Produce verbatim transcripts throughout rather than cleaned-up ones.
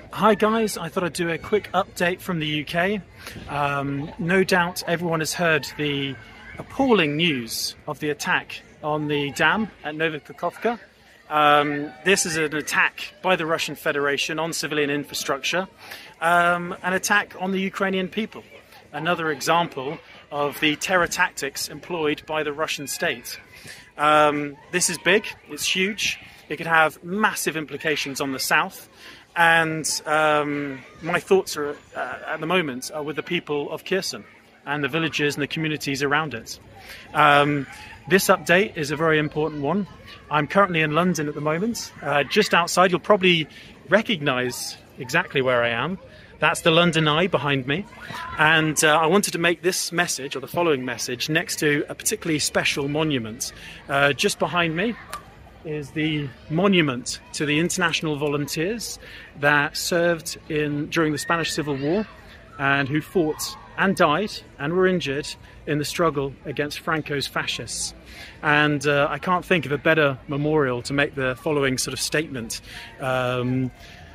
Hi guys, I thought I'd do a quick update from the U K. Um, no doubt everyone has heard the appalling news of the attack on the dam at Nova Kakhovka. Um, this is an attack by the Russian Federation on civilian infrastructure, um, an attack on the Ukrainian people. Another example of the terror tactics employed by the Russian state. Um, this is big, it's huge, it could have massive implications on the south. And um, my thoughts are, uh, at the moment are with the people of Kherson and the villages and the communities around it. Um, this update is a very important one. I'm currently in London at the moment, uh, just outside. You'll probably recognise exactly where I am. That's the London Eye behind me. And uh, I wanted to make this message, or the following message, next to a particularly special monument. Uh, just behind me is the monument to the international volunteers that served in during the Spanish Civil War and who fought and died and were injured in the struggle against Franco's fascists. And uh, I can't think of a better memorial to make the following sort of statement, um,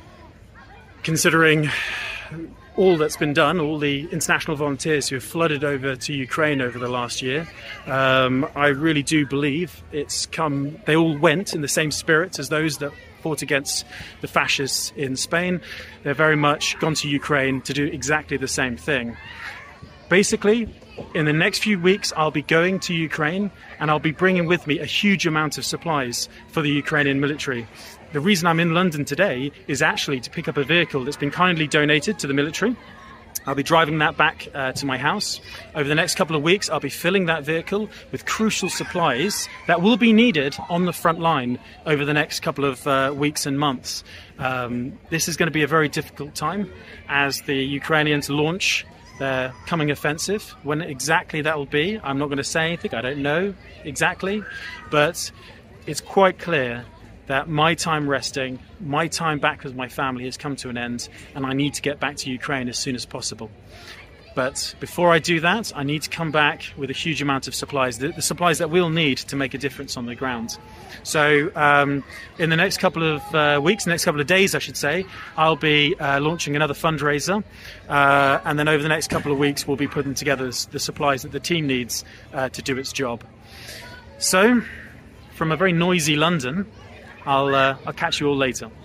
considering all that's been done, all the international volunteers who have flooded over to Ukraine over the last year. Um, I really do believe it's come, they all went in the same spirit as those that fought against the fascists in Spain. They're very much gone to Ukraine to do exactly the same thing. Basically, in the next few weeks, I'll be going to Ukraine and I'll be bringing with me a huge amount of supplies for the Ukrainian military. The reason I'm in London today is actually to pick up a vehicle that's been kindly donated to the military. I'll be driving that back uh, to my house. Over the next couple of weeks, I'll be filling that vehicle with crucial supplies that will be needed on the front line over the next couple of uh, weeks and months. Um, this is going to be a very difficult time as the Ukrainians launch their coming offensive. When exactly that will be, I'm not going to say anything. I don't know exactly, but it's quite clear that my time resting, my time back with my family has come to an end, and I need to get back to Ukraine as soon as possible. But before I do that, I need to come back with a huge amount of supplies, the, the supplies that we'll need to make a difference on the ground. So um, in the next couple of uh, weeks, next couple of days, I should say, I'll be uh, launching another fundraiser. Uh, and then over the next couple of weeks, we'll be putting together the supplies that the team needs uh, to do its job. So from a very noisy London, I'll, uh, I'll catch you all later.